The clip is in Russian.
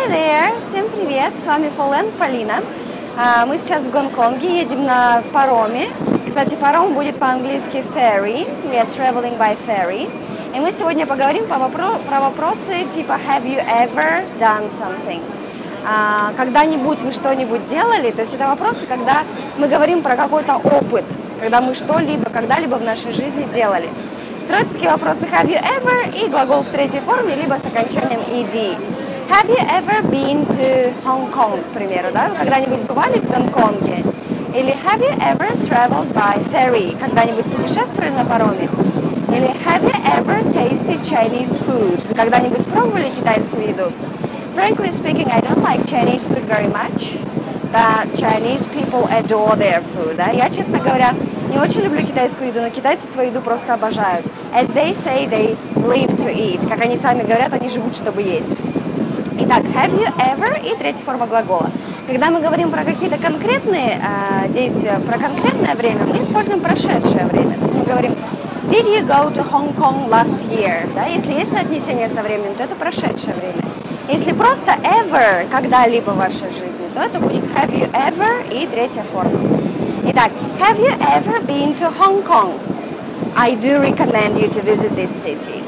Hi there! Всем привет! С вами Фолен, Полина. Мы сейчас в Гонконге, едем на пароме. Кстати, паром будет по-английски ferry. We are traveling by ferry. И мы сегодня поговорим про вопросы типа Have you ever done something? Когда-нибудь вы что-нибудь делали? То есть это вопросы, когда мы говорим про какой-то опыт, когда мы что-либо, когда-либо в нашей жизни делали. Строятся такие вопросы Have you ever и глагол в третьей форме, либо с окончанием ed. Have you ever been to Hong Kong, к примеру, да? Вы когда-нибудь бывали в Гонконге? Или Have you ever traveled by ferry? Когда-нибудь путешествовали на пароме? Или Have you ever tasted Chinese food? Вы когда-нибудь пробовали китайскую еду? Frankly speaking, I don't like Chinese food very much. But Chinese people adore their food. Да? Я, честно говоря, не очень люблю китайскую еду, но китайцы свою еду просто обожают. As they say, they live to eat. Как они сами говорят, они живут, чтобы есть. Итак, have you ever и третья форма глагола. Когда мы говорим про какие-то конкретные действия, про конкретное время, мы используем прошедшее время. То есть мы говорим Did you go to Hong Kong last year? Да? Если есть соотнесение со временем, то это прошедшее время. Если просто ever, когда-либо в вашей жизни, то это будет have you ever и третья форма. Итак, have you ever been to Hong Kong? I do recommend you to visit this city.